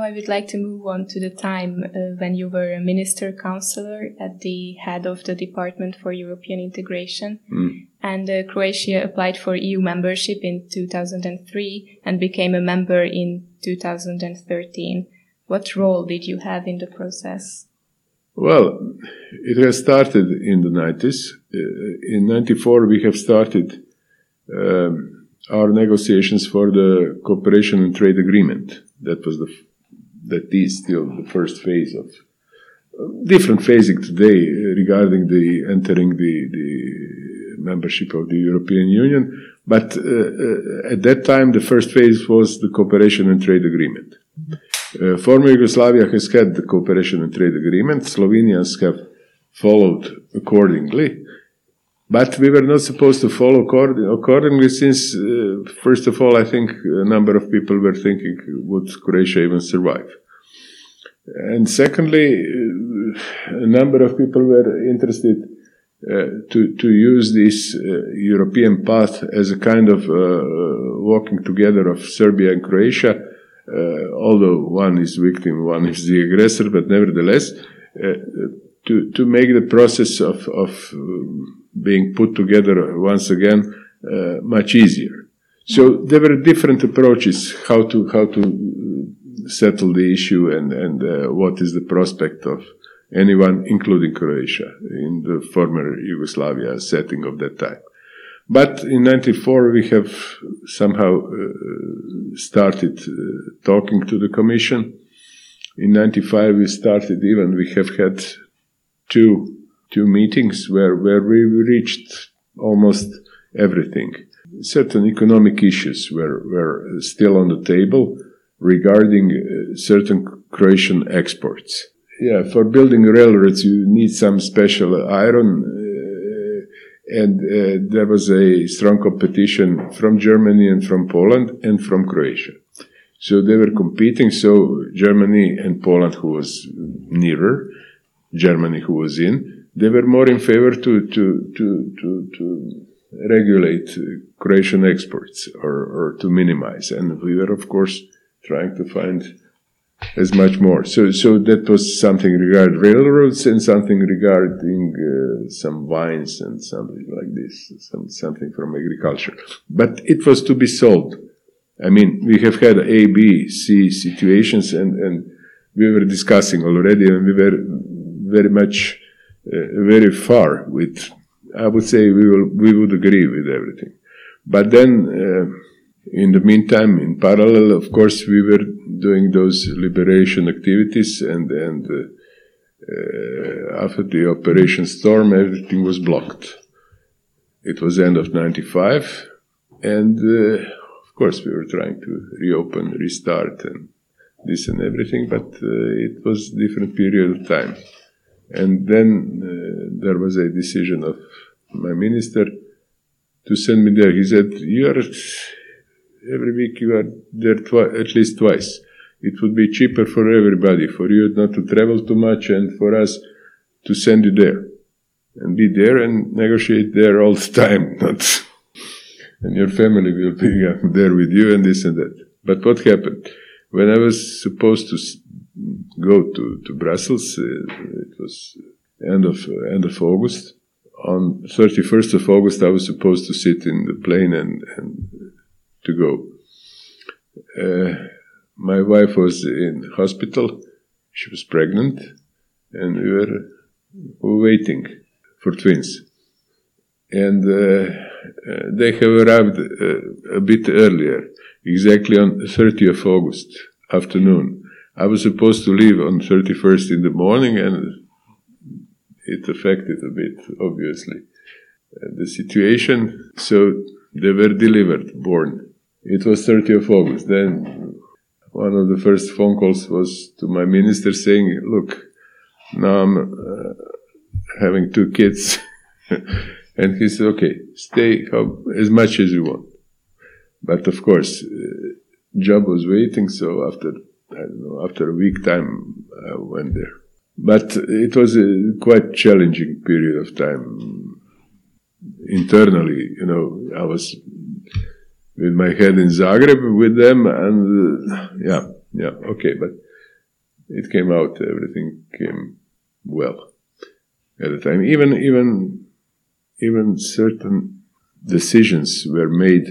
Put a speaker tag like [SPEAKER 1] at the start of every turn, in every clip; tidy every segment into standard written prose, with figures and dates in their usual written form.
[SPEAKER 1] I would like to move on to the time when you were a minister counselor at the head of the Department for European Integration. And Croatia applied for EU membership in 2003 and became a member in 2013. What role did you have in the process?
[SPEAKER 2] Well, it has started in the 90s. In 94, we have started our negotiations for the cooperation and trade agreement. That is still the first phase of different phasing today regarding the entering the membership of the European Union. But at that time, the first phase was the cooperation and trade agreement. Former Yugoslavia has had the cooperation and trade agreement. Slovenians have followed accordingly. But we were not supposed to follow accordingly since, first of all, I think a number of people were thinking, would Croatia even survive? And secondly, a number of people were interested to use this European path as a kind of walking together of Serbia and Croatia, although one is victim, one is the aggressor, but nevertheless, to make the process of being put together once again much easier. So there were different approaches how to settle the issue and what is the prospect of anyone, including Croatia, in the former Yugoslavia setting of that time. But in 94 we have somehow started talking to the Commission. In 95 we have had two meetings where we reached almost everything. Certain economic issues were still on the table regarding certain Croatian exports. Yeah, for building railroads you need some special iron, and there was a strong competition from Germany and from Poland and from Croatia. So they were competing, so Germany and Poland, who was nearer, Germany, who was in, they were more in favor to regulate Croatian exports or to minimize. And we were, of course, trying to find as much more. So that was something regarding railroads and something regarding some wines and something like this, something from agriculture. But it was to be solved. I mean, we have had A, B, C situations and we were discussing already and we were very much, very far with, I would say we would agree with everything. But then, in the meantime, in parallel, of course, we were doing those liberation activities and after the Operation Storm, everything was blocked. It was end of 95 and, of course, we were trying to reopen, restart and this and everything, but it was a different period of time. And then there was a decision of my minister to send me there. He said, every week you are there at least twice. It would be cheaper for everybody, for you not to travel too much and for us to send you there. And be there and negotiate there all the time. And your family will be there with you and this and that. But what happened? When I was supposed to go to Brussels, it was end of August. On 31st of August, I was supposed to sit in the plane and to go. My wife was in hospital. She was pregnant, and we were waiting for twins. And they have arrived a bit earlier, exactly on 30th of August afternoon. I was supposed to leave on 31st in the morning, and it affected a bit, obviously, the situation. So they were born. It was 30th of August. Then one of the first phone calls was to my minister saying, look, now I'm having 2 kids. And he said, okay, stay as much as you want. But of course, job was waiting, so after a week time, I went there. But it was a quite challenging period of time. Internally, I was with my head in Zagreb with them, and okay. But it came out. Everything came well at the time. Even certain decisions were made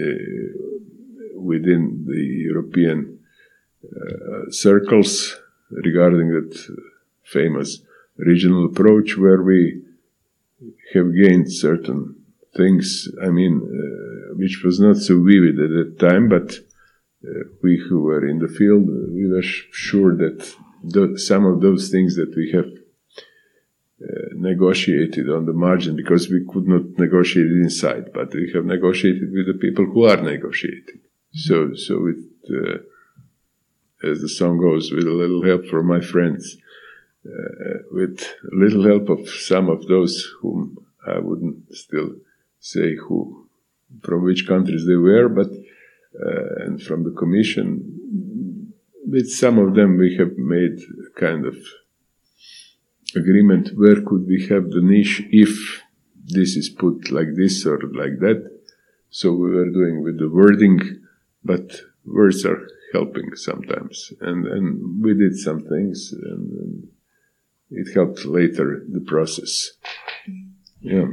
[SPEAKER 2] within the European circles regarding that famous regional approach, where we have gained certain things, which was not so vivid at that time, but we who were in the field, we were sure that some of those things that we have negotiated on the margin, because we could not negotiate it inside, but we have negotiated with the people who are negotiating. So with, as the song goes, with a little help from my friends, with a little help of some of those whom I wouldn't still say from which countries they were, but and from the Commission, with some of them we have made a kind of agreement where could we have the niche if this is put like this or like that. So we were doing with the wording, but words are helping sometimes. And we did some things, and it helped later the process. Yeah.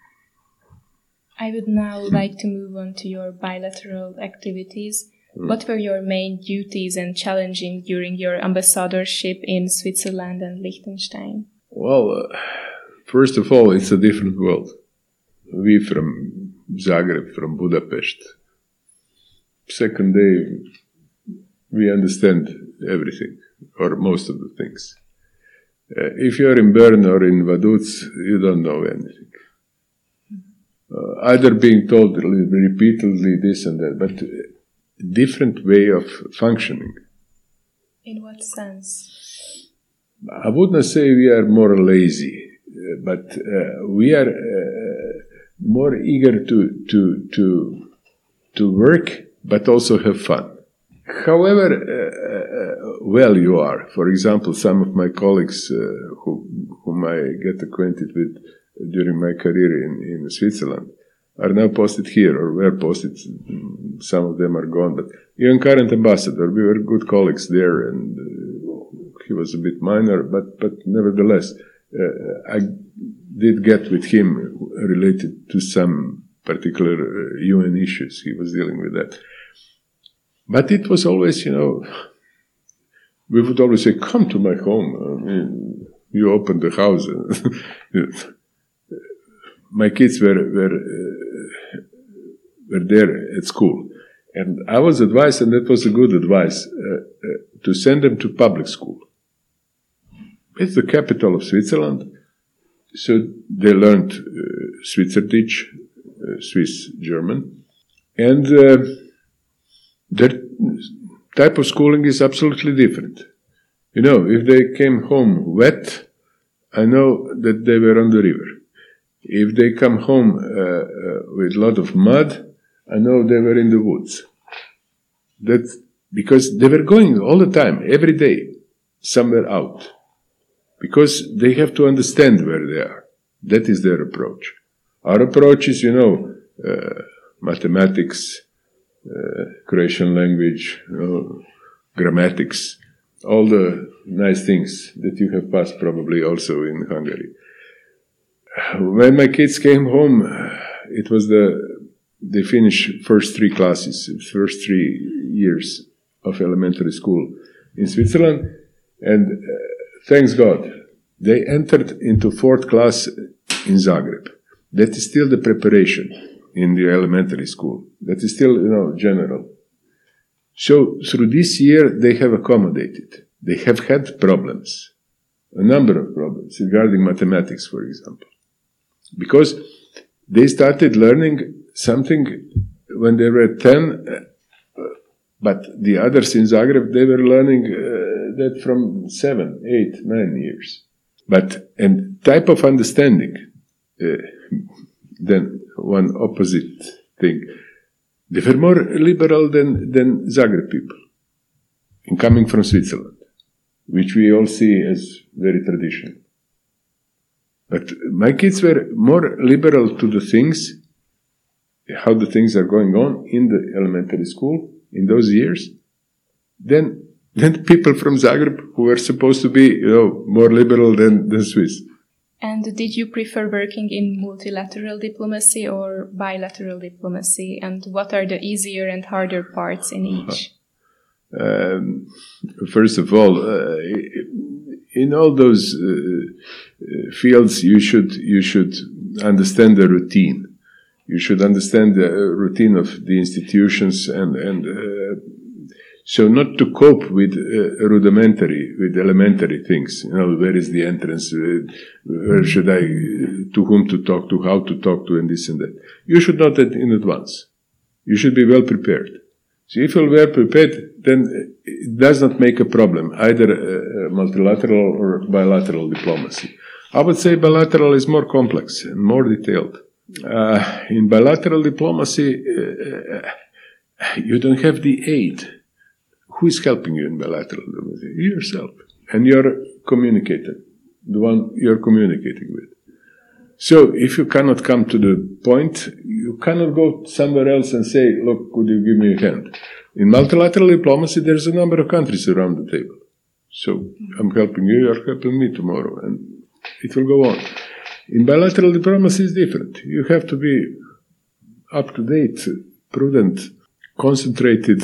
[SPEAKER 1] I would now like to move on to your bilateral activities. What were your main duties and challenges during your ambassadorship in Switzerland and Liechtenstein?
[SPEAKER 2] Well, first of all, it's a different world. We from Zagreb, from Budapest. Second day, we understand everything, or most of the things. If you're in Bern or in Vaduz, you don't know anything. Either being told repeatedly this and that, but different way of functioning.
[SPEAKER 1] In what sense?
[SPEAKER 2] I wouldn't say we are more lazy, but we are more eager to work, but also have fun. However well you are, for example, some of my colleagues whom I get acquainted with during my career in Switzerland are now posted here, or were posted. Some of them are gone, but even current ambassador, we were good colleagues there, and he was a bit minor, but nevertheless, I did get with him related to some particular UN issues. He was dealing with that. But it was always, we would always say, come to my home. You open the house. My kids were there at school. And I was advised, and that was a good advice, to send them to public school. It's the capital of Switzerland. So they learned Schweizerdeutsch, Swiss German. And their type of schooling is absolutely different. If they came home wet, I know that they were on the river. If they come home with a lot of mud, I know they were in the woods. That's because they were going all the time, every day, somewhere out. Because they have to understand where they are. That is their approach. Our approach is, mathematics, Croatian language, grammatics, all the nice things that you have passed probably also in Hungary. When my kids came home, it was they finished first 3 classes, first 3 years of elementary school in Switzerland, and thanks God, they entered into 4th class in Zagreb. That is still the preparation in the elementary school. That is still, general. So through this year, they have accommodated. They have had problems, a number of problems regarding mathematics, for example. Because they started learning something when they were 10, but the others in Zagreb, they were learning that from 7, 8, 9 years. And type of understanding, then one opposite thing. They were more liberal than Zagreb people, in coming from Switzerland, which we all see as very traditional. But my kids were more liberal to the things, how the things are going on in the elementary school in those years, than than people from Zagreb who were supposed to be, more liberal than Swiss.
[SPEAKER 1] And did you prefer working in multilateral diplomacy or bilateral diplomacy? And what are the easier and harder parts in each?
[SPEAKER 2] First of all, in all those fields, you should understand the routine. You should understand the routine of the institutions, and so not to cope with elementary things. Where is the entrance? Where should I? To whom to talk to? How to talk to? And this and that. You should know that in advance. You should be well prepared. So if you're well prepared, then it does not make a problem, either multilateral or bilateral diplomacy. I would say bilateral is more complex and more detailed. In bilateral diplomacy, you don't have the aid. Who is helping you in bilateral diplomacy? You yourself. And you're communicating, the one you're communicating with. So if you cannot come to the point, you cannot go somewhere else and say, look, could you give me a hand? In multilateral diplomacy, there's a number of countries around the table. So I'm helping you, you're helping me tomorrow, and it will go on. In bilateral diplomacy, it's different. You have to be up to date, prudent, concentrated,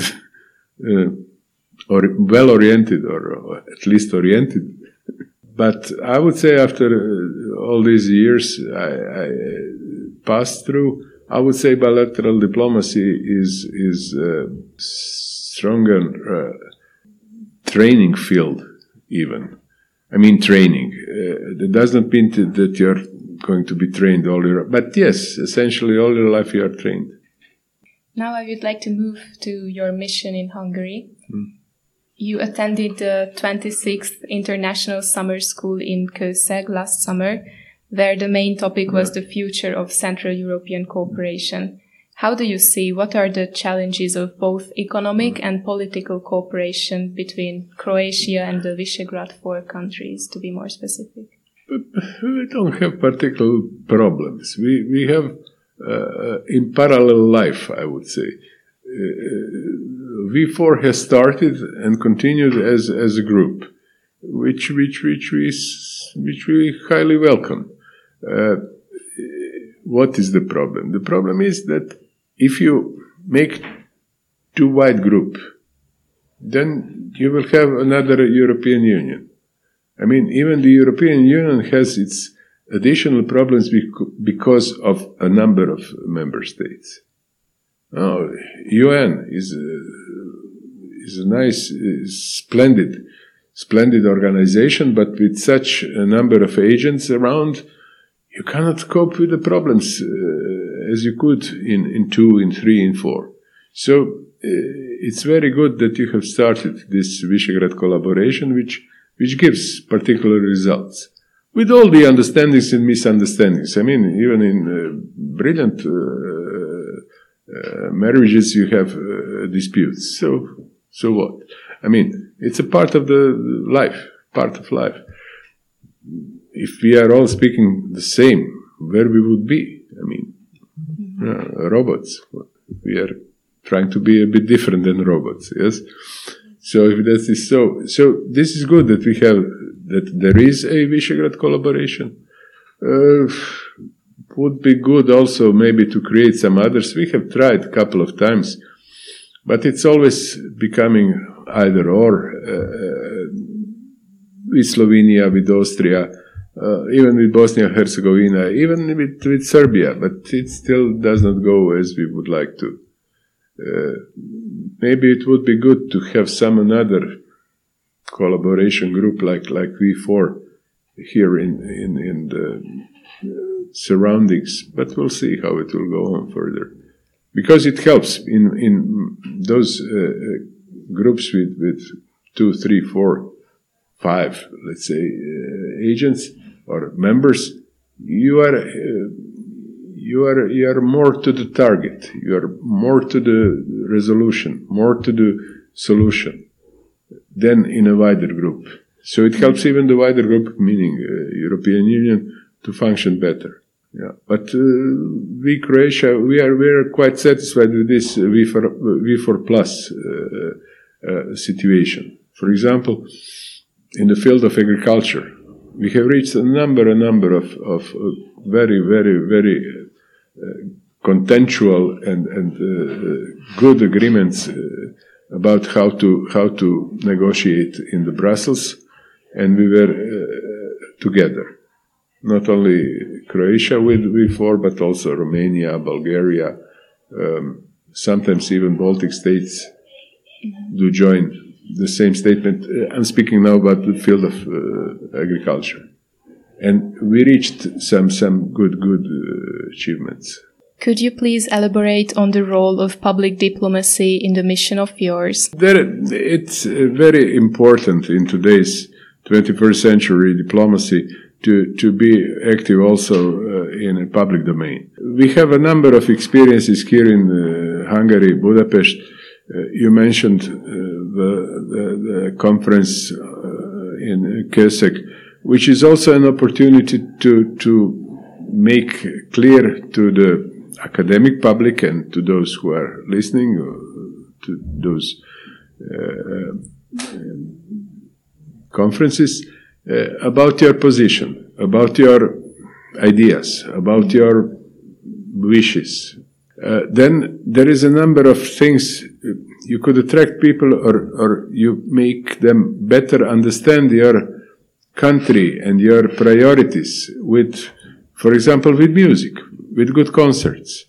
[SPEAKER 2] or well-oriented, or at least oriented. But I would say after all these years I passed through, I would say bilateral diplomacy is a stronger training field even. I mean training. That does not mean that you're going to be trained all your life. But yes, essentially all your life you are trained.
[SPEAKER 1] Now I would like to move to your mission in Hungary. You attended the 26th International Summer School in Kőszeg last summer, where the main topic was the future of Central European cooperation. How do you see what are the challenges of both economic and political cooperation between Croatia and the Visegrad 4 countries, to be more specific?
[SPEAKER 2] We don't have particular problems. We have in parallel life, I would say. V4 has started and continued as a group, which we highly welcome. What is the problem? The problem is that if you make too wide group, then you will have another European Union. I mean, even the European Union has its additional problems because of a number of member states. UN is a nice, splendid organization, but with such a number of agents around, you cannot cope with the problems as you could in 2, in 3, in 4. So it's very good that you have started this Visegrad collaboration, which gives particular results. With all the understandings and misunderstandings. I mean, even in brilliant marriages, you have disputes. So what? I mean, it's a part of the life, part of life. If we are all speaking the same, where we would be? I mean, robots. We are trying to be a bit different than robots, yes? So if that is so this is good that we have, that there is a Visegrad collaboration. Would be good also maybe to create some others. We have tried a couple of times, but it's always becoming either or. With Slovenia, with Austria, even with Bosnia and Herzegovina, even with Serbia, but it still does not go as we would like to. Maybe it would be good to have some another collaboration group like V4 here in the surroundings, but we'll see how it will go on further, because it helps in those groups with 2, 3, 4, 5, let's say, agents or members. You are more to the target. You are more to the resolution, more to the solution than in a wider group. So it helps even the wider group, meaning European Union, to function better. Yeah, but we, Croatia, we are quite satisfied with this V4 Plus situation. For example, in the field of agriculture, we have reached a number of very, very, very contextual and good agreements about how to negotiate in the Brussels, and we were together. Not only Croatia with four, but also Romania, Bulgaria, sometimes even Baltic states do join the same statement. I'm speaking now about the field of agriculture. And we reached some good achievements.
[SPEAKER 1] Could you please elaborate on the role of public diplomacy in the mission of yours?
[SPEAKER 2] It's very important in today's 21st century diplomacy to be active also in a public domain. We have a number of experiences here in Hungary, Budapest. You mentioned the conference in Kesek, which is also an opportunity to make clear to the academic public and to those who are listening, to those conferences, about your position, about your ideas, about your wishes. Then there is a number of things you could attract people, or you make them better understand your country and your priorities with, for example, with music, with good concerts.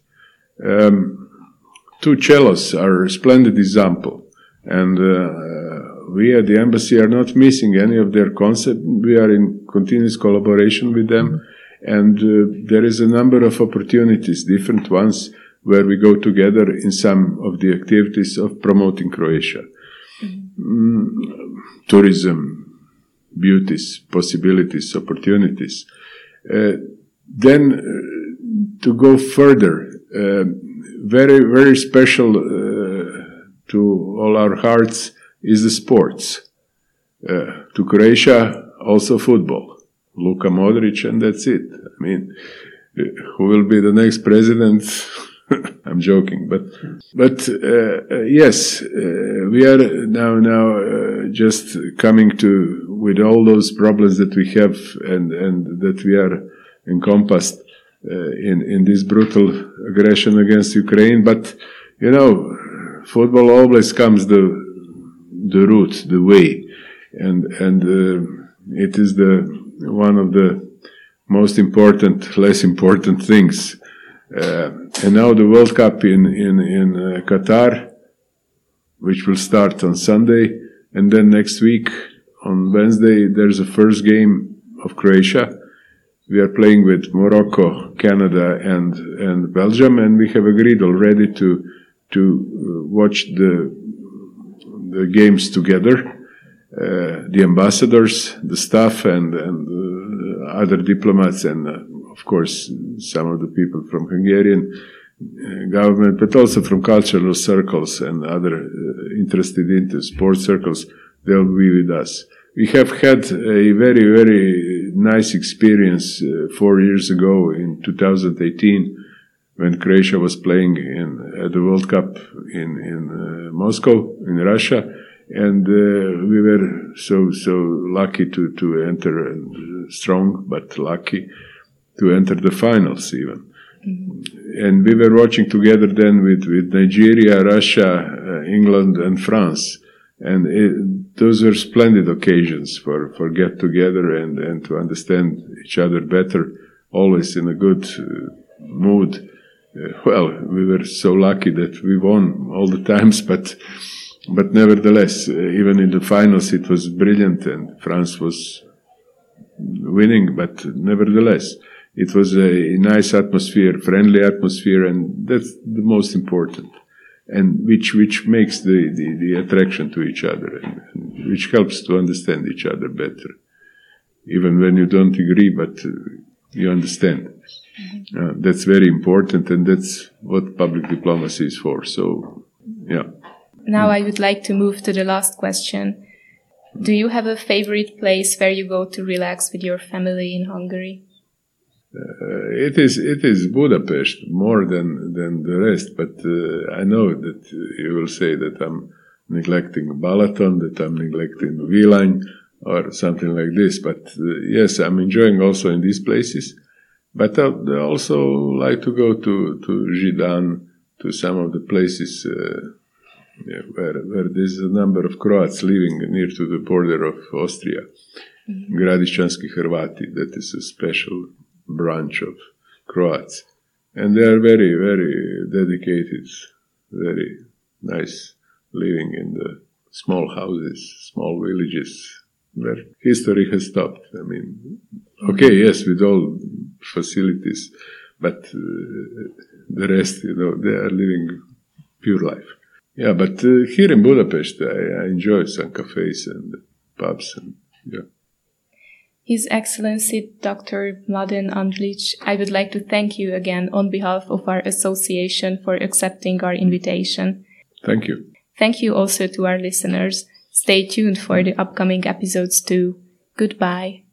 [SPEAKER 2] Two cellos are a splendid example, and we at the embassy are not missing any of their concerts. We are in continuous collaboration with them, and there is a number of opportunities, different ones, where we go together in some of the activities of promoting Croatia. Tourism, beauties, possibilities, opportunities. Then to go further, very, very special to all our hearts is the sports. To Croatia, also football. Luka Modric, and that's it. I mean, who will be the next president? I'm joking, but yes, we are now just coming to, with all those problems that we have and that we are encompassed in this brutal aggression against Ukraine. But you know, football always comes the route, the way, and it is one of the most important, less important things. And now the World Cup in Qatar, which will start on Sunday, and then next week on Wednesday there's a first game of Croatia. We are playing with Morocco, Canada, and Belgium, and we have agreed already to watch the games together. The ambassadors, the staff, and other diplomats, and of course some of the people from Hungarian government, but also from cultural circles and other interested into sports circles, they'll be with us. We have had a very, very nice experience 4 years ago in 2018 when Croatia was playing at the World Cup in Moscow, in Russia, and we were so lucky to enter, and strong but lucky to enter the finals even. Mm-hmm. And we were watching together then with Nigeria, Russia, England, and France. And those were splendid occasions for get together and to understand each other better, always in a good mood. Well, we were so lucky that we won all the times, but nevertheless, even in the finals it was brilliant and France was winning, but nevertheless, it was a nice atmosphere, friendly atmosphere, and that's the most important. And which makes the attraction to each other, and which helps to understand each other better, even when you don't agree, but you understand. That's very important, and that's what public diplomacy is for. So, yeah.
[SPEAKER 1] Now I would like to move to the last question. Do you have a favorite place where you go to relax with your family in Hungary?
[SPEAKER 2] It is Budapest more than the rest, but I know that you will say that neglecting Balaton, that I'm neglecting Vilaň, or something like this. But yes, I'm enjoying also in these places. But I also like to go to Židan, to some of the places where there's a number of Croats living near to the border of Austria. Mm-hmm. Gradišćanski Hrvati, that is a special branch of Croats. And they are very, very dedicated, very nice, living in the small houses, small villages, where history has stopped. I mean, okay, yes, with all facilities, but the rest, they are living pure life. Yeah, but here in Budapest, I enjoy some cafes and pubs, and yeah.
[SPEAKER 1] His Excellency Dr. Mladen Andrić, I would like to thank you again on behalf of our association for accepting our invitation.
[SPEAKER 2] Thank you.
[SPEAKER 1] Thank you also to our listeners. Stay tuned for the upcoming episodes too. Goodbye.